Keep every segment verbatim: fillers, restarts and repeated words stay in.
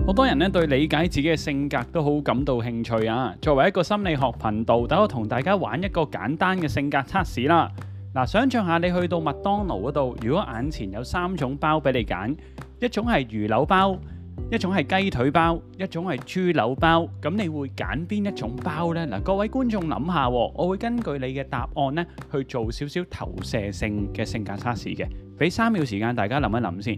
好多人咧對理解自己嘅性格都好感到興趣啊！作為一個心理學頻道，等我同大家玩一個簡單嘅性格測試啦。嗱，想像下你去到麥當勞嗰度，如果眼前有三種包俾你揀，一種係魚柳包，一種係雞腿包，一種係豬柳包，咁你會揀邊一種包呢？嗱，各位觀眾諗下，我會根據你嘅答案咧去做少少投射性嘅性格測試嘅，俾三秒時間大家諗一諗先。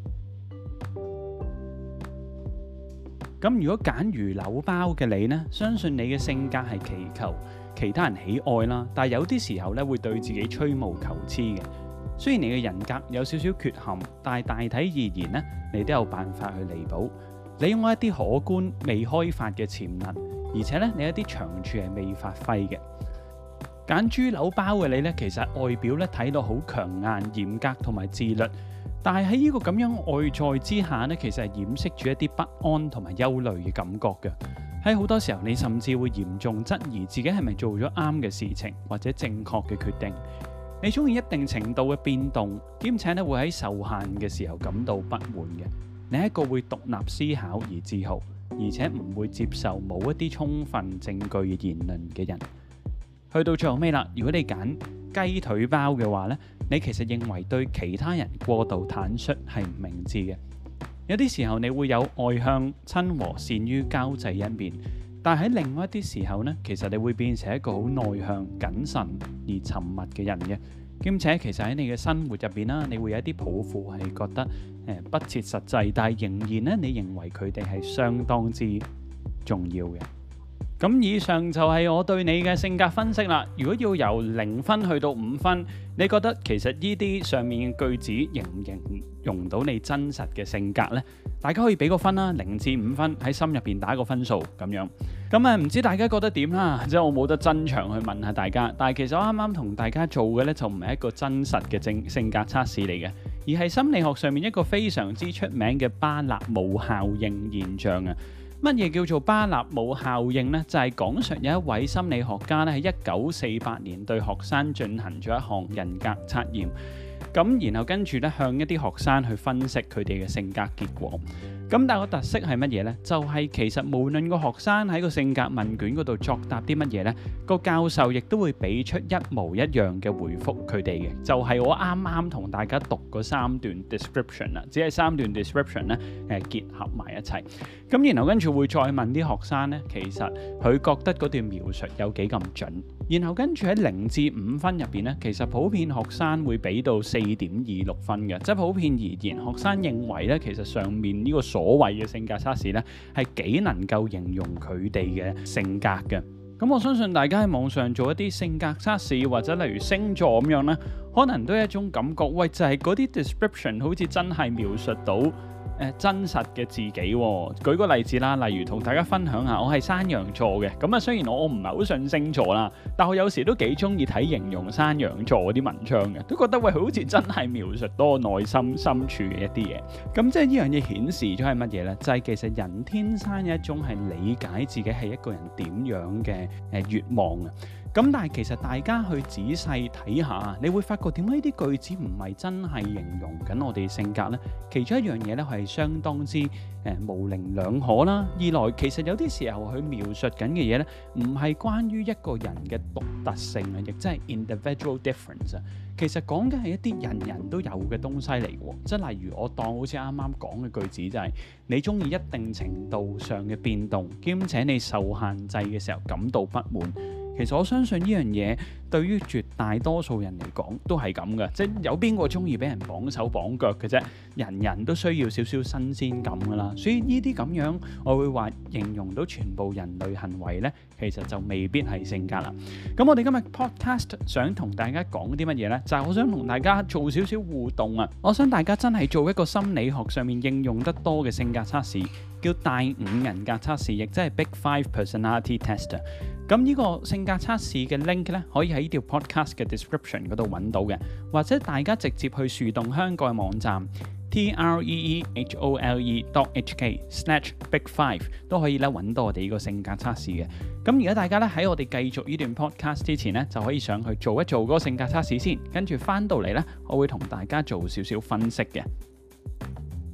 咁如果揀魚柳包嘅你呢，相信你嘅性格係祈求其他人喜愛啦，但係有啲時候咧會對自己吹毛求疵嘅。雖然你嘅人格有少少缺陷，但係大體而言呢，你都有辦法去彌補。你擁有一啲可觀未開發嘅潛能，而且咧你一啲長處係未發揮嘅。揀豬柳包嘅你呢，其實外表咧睇到好強硬、嚴格同埋自律。但係喺呢個咁樣外在之下呢，其實係掩飾住一啲不安同埋憂慮嘅感覺嘅。喺好多時候，你甚至會嚴重質疑自己係咪做咗啱嘅事情，或者正確嘅決定。你中意一定程度嘅變動，兼且咧會喺受限嘅時候感到不滿嘅。你係一個會獨立思考而自豪，而且唔會接受冇一啲充分證據嘅言論嘅人。去到最後尾啦，如果你揀雞腿包嘅話呢，你其實認為對其他人過度坦率係唔明智嘅。有啲時候你會有外向、親和、善於交際一面，但係喺另外一啲時候呢，其實你會變成一個好內向、謹慎而沉默嘅人嘅。兼且其實喺你嘅生活入邊啦，你會有一啲抱負係覺得誒、呃、不切實際，但係仍然呢，你認為佢哋係相當之重要嘅。咁以上就係我對你嘅性格分析啦。如果要由零分去到五分，你覺得其實呢啲上面嘅句子形唔形容到你真實嘅性格呢？大家可以俾個分啦，零至五分，喺心入邊打個分數咁樣。咁啊，唔知大家覺得點啦？即係我冇得真場去問下大家。但係其實我啱啱同大家做嘅呢，就唔係一個真實嘅正性格測試嚟嘅，而係心理學上面一個非常之出名嘅巴納姆效應現象啊。乜嘢叫做巴納姆效應呢？就係講述有一位心理學家咧喺一九四八年對學生進行咗一項人格測驗，咁然後跟住咧向一啲學生去分析佢哋嘅性格結果。咁但係個特色係乜嘢呢？就係其實無論個學生喺個性格問卷嗰度作答啲乜嘢呢，個教授亦都會俾出一模一樣嘅回覆佢哋嘅。就係我啱啱同大家讀嗰三段 description 啦，只係三段 description 咧誒結合埋一齊。咁然後跟住會再問啲學生呢，其實佢覺得嗰段描述有幾咁準。然後跟住喺零至五分入邊呢，其實普遍學生會俾到四點二六分嘅，即係普遍而言，學生認為呢，其實上面呢個所謂嘅性格測試呢，係幾能夠形容佢哋嘅性格嘅。咁我相信大家喺網上做一啲性格測試，或者例如星座咁樣呢，可能都有一種感覺，喂，就係嗰啲 description 好似真係描述到誒真實嘅自己喎。舉個例子啦，例如同大家分享下，我係山羊座嘅。咁啊，雖然我我唔係好信星座啦，但我有時都幾中意睇形容山羊座嗰啲文章嘅，都覺得喂，好似真係描述到我內心深處嘅一啲嘢。咁即係呢樣嘢顯示咗係乜嘢呢？就係其實人天生有一種係理解自己係一個人點樣嘅誒願望啊。咁但係其實大家去仔細睇下，你會發覺點解呢啲句子唔係真係形容緊我哋性格呢？其中一樣嘢咧係相當之誒、呃、模棱兩可啦。二來其實有啲時候佢描述緊嘅嘢咧，唔係關於一個人嘅獨特性啊，亦即係 individual difference 啊。其實講緊係一啲人人都有嘅東西嚟嘅，即係例如我當好似啱啱講嘅句子就係、是、你中意一定程度上嘅變動，兼且你受限制嘅時候感到不滿。其實我相信呢樣嘢對於絕大多數人嚟講都係咁嘅，即係有邊個中意俾人綁手綁腳嘅啫？人人都需要少少新鮮感噶啦，所以呢啲咁樣我會話形容到全部人類行為呢，其實就未必係性格啦。咁我哋今日 podcast 想同大家講啲乜嘢呢？就係我想同大家做少少互動啊！我想大家真係做一個心理學上面應用得多嘅性格測試，叫大五人格測試，亦即係 Big Five Personality Test。咁呢個性格測試嘅 link 咧，可以喺呢條 podcast 嘅 description 嗰度揾到嘅，或者大家直接去樹洞香港嘅網站 t r e e h o l e dot h k slash big five 都可以咧揾到我哋呢個性格測試嘅。咁而家大家咧喺我哋繼續呢段 podcast 之前咧，就可以上去做一做嗰個性格測試先，跟住翻到嚟咧，我會同大家做少少分析嘅。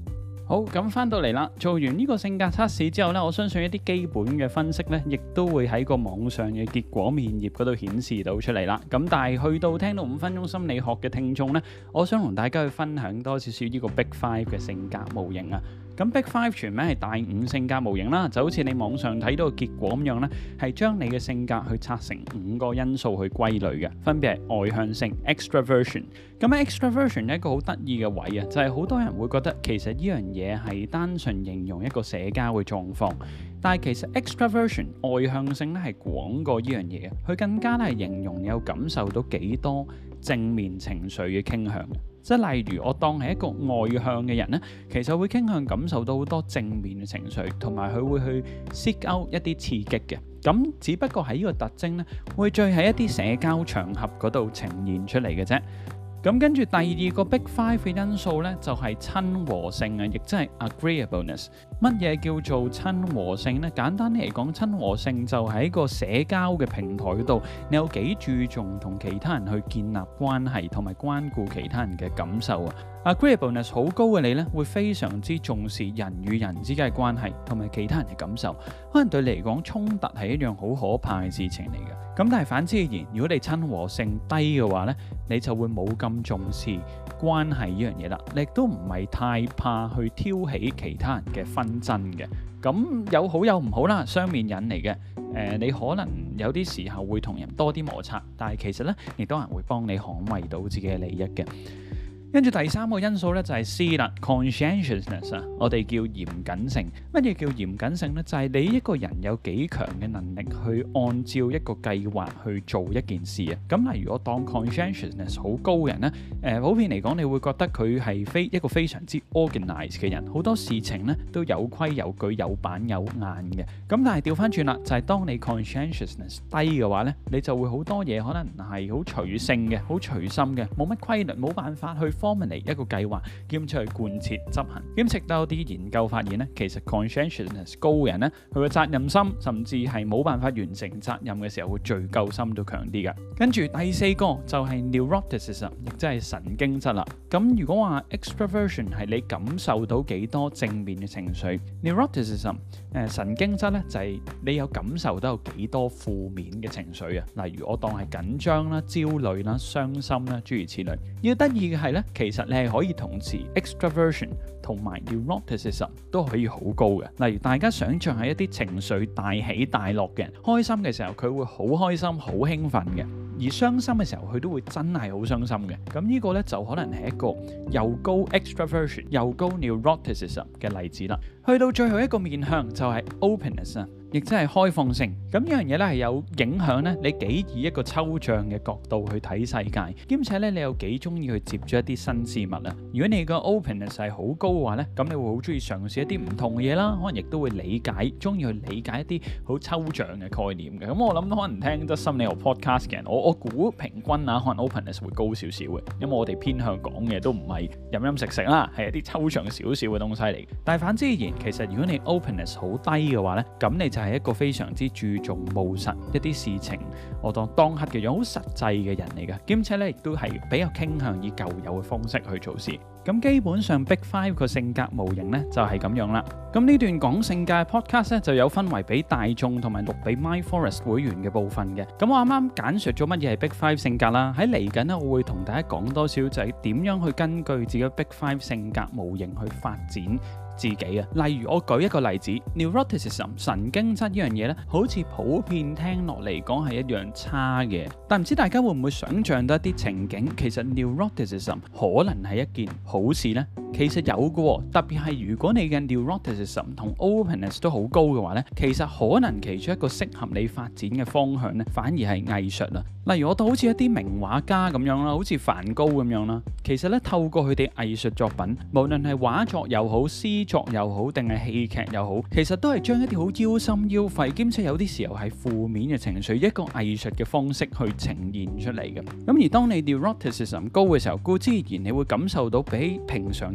好，咁翻到嚟啦，做完呢個性格測試之後呢，我相信一啲基本嘅分析呢，亦都會喺個網上嘅結果面頁嗰度顯示到出嚟啦。咁但係去到聽到五分鐘心理學嘅聽眾呢，我想同大家去分享多少少呢個 Big Five 嘅性格模型啊。咁 Big Five 全名係大五性格模型啦，就好似你網上睇到嘅結果咁樣呢，係將你嘅性格去拆成五個因素去歸類嘅，分別係外向性 （extraversion）。咁 extraversion 一個好得意嘅位啊，就係好多人會覺得其實呢樣嘢係單純形容一個社交嘅狀況，但係其實 extraversion 外向性咧係廣過呢樣嘢嘅，佢更加係形容你有感受到幾多正面情緒嘅傾向嘅。即係例如我當係一個外向嘅人呢，其實會傾向感受到好多正面嘅情緒，同埋佢會去 seek out 一啲刺激嘅。咁只不過喺呢個特徵呢，會最喺一啲社交場合嗰度呈現出嚟嘅啫。咁跟住第二個 Big Five 嘅因素呢，就係親和性啊，亦即係 agreeableness。乜嘢叫做親和性呢？簡單嚟講，親和性就係喺個社交嘅平台嗰度，你有幾注重同其他人去建立關係，同埋關顧其他人嘅感受啊。agreeableness 好高嘅你呢，會非常之重視人與人之間嘅關係，同埋其他人嘅感受。可能對你嚟講，衝突係一樣好可怕嘅事情嚟嘅。咁但係反之而言，如果你親和性低嘅話呢，你就會冇咁重視關係呢樣嘢啦。你亦都唔係太怕去挑起其他人嘅紛爭嘅。咁有好有唔好啦，雙面人嚟嘅。誒、呃，你可能有啲時候會同人多啲摩擦，但係其實呢，亦都係會幫你捍衛到自己嘅利益嘅。跟住第三個因素咧就係 C 啦 ，conscientiousness 啊，我哋叫嚴謹性。乜嘢叫嚴謹性呢？就係、是、你一個人有幾強嘅能力去按照一個計劃去做一件事啊。咁例如我當 conscientiousness 好高嘅人呢，誒、呃、普遍嚟講，你會覺得佢係非一個非常之 organized 嘅人，好多事情呢都有規有矩、有板有眼嘅。咁但係調翻轉啦，就係、是、當你 conscientiousness 低嘅話呢，你就會好多嘢可能係好隨性嘅、好隨心嘅，冇乜規律，冇辦法去formulate一個計劃，兼且去貫徹執行。咁直到有啲研究發現咧，其實 conscientiousness 高嘅人咧，佢嘅責任心甚至係冇辦法完成責任嘅時候，會罪疚心都強啲嘅。跟住第四個就係 neuroticism， 亦即係神經質啦。咁如果話 extraversion 係你感受到幾多正面嘅情緒 ，neuroticism 誒神經質咧就係、是、你有感受到有幾多負面嘅情緒啊。例如我當係緊張啦、焦慮啦、傷心啦，諸如此類。要得意嘅係咧，其實你係可以同時 extraversion 同埋 neuroticism 都可以好高嘅。例如大家想象係一啲情緒大起大落嘅人，開心嘅時候佢會好開心、好興奮嘅，而傷心嘅時候佢都會真係好傷心嘅。咁呢個呢，就可能係一個又高 extraversion 又高 neuroticism 嘅例子啦。去到最後一個面向就係 openness 啊，亦即係開放性。咁呢樣嘢咧係有影響咧，你幾以一個抽象嘅角度去睇世界，兼且咧你又幾中意去接觸一啲新事物啊。如果你個 openness 係好高嘅話咧，咁你會好中意嘗試一啲唔同嘅嘢啦，可能亦都會理解，中意去理解一啲好抽象嘅概念嘅。咁我諗可能聽得心理學 podcast 嘅人，我我估平均啊，可能 openness 會高少少嘅，因為我哋偏向講嘅都唔係飲飲食食啦，係一啲抽象少少嘅東西嚟。但係反之而言，其實如果你 openness 好低嘅話咧，咁你就係一個非常之注重務實一啲事情，我當當刻嘅樣好實際嘅人嚟嘅，兼且咧亦都係比較傾向以舊有嘅方式去做事。咁基本上 Big Five 個性格模型咧就係咁樣啦。咁呢段講性格嘅 podcast 咧就有分為俾大眾同埋錄俾 MindForest 會員嘅部分嘅。咁我啱啱簡述咗乜嘢係 Big Five 性格啦。喺嚟緊咧，我會同大家講多少就係點樣去根據自己 Big Five 性格模型去發展自己啊。例如我舉一個例子 neuroticism 神經質呢樣嘢咧，好似普遍聽落嚟講係一樣差嘅，但唔知大家會唔會想像到一啲情景，其實 neuroticism 可能係一件好事呢？其實有嘅，特別係如果你嘅 neuroticism 同 openness 都好高嘅話呢，其實可能其中一個適合你發展嘅方向呢，反而係藝術啦。例如我都好似一啲名畫家咁樣啦，好似梵高咁樣啦，其實咧透過佢哋藝術作品，無論係畫作又好、詩作又好，定係戲劇又好，其實都係將一啲好腰心腰肺，兼且有啲時候係負面嘅情緒，一個藝術嘅方式去呈現出嚟嘅。咁而當你 neuroticism 高嘅時候，固之然你會感受到比平常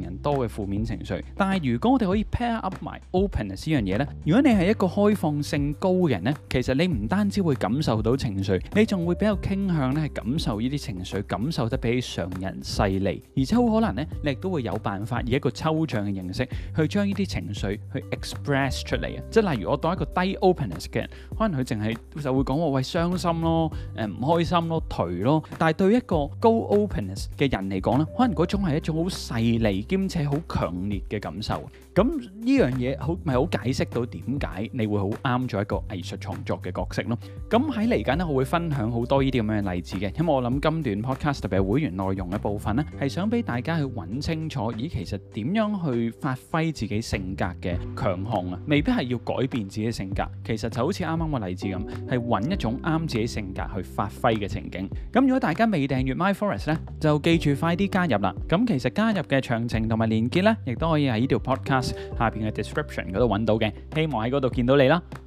人多嘅負面情緒。但係如果我哋可以 pair up 埋 openness 呢樣嘢呢，如果你係一個開放性高嘅人呢，其實你唔單止會感受到情緒，你仲會比較傾向咧係感受呢啲情緒，感受得比起常人細膩，而且好可能呢，你亦都會有辦法以一個抽象嘅形式去將呢啲情緒去 express 出嚟啊！即係例如我當一個低 openness 嘅人，可能佢淨係就會講話喂傷心咯，誒唔開心咯，頹咯。但係對一個高 openness 嘅人嚟講咧，可能嗰種係一種好細膩兼且好強烈嘅感受。咁呢樣嘢好咪好解釋到點解你會好啱做一個藝術創作嘅角色咯。咁喺嚟緊咧，我會分享好多呢啲咁樣嘅例子嘅，因為我諗今段 podcast 特別係會員內容嘅部分咧，係想俾大家去揾清楚，咦其實點樣去發揮自己性格嘅強項啊？未必係要改變自己性格，其實就好似啱啱個例子咁，係揾一種啱自己性格去發揮嘅情景。咁如果大家未訂閱 MindForest 咧，就記住快啲加入啦。咁其實加入嘅詳情同埋連結咧，亦都可以喺呢條 podcast 下邊嘅 description 嗰度揾到嘅。希望喺嗰度見到你啦。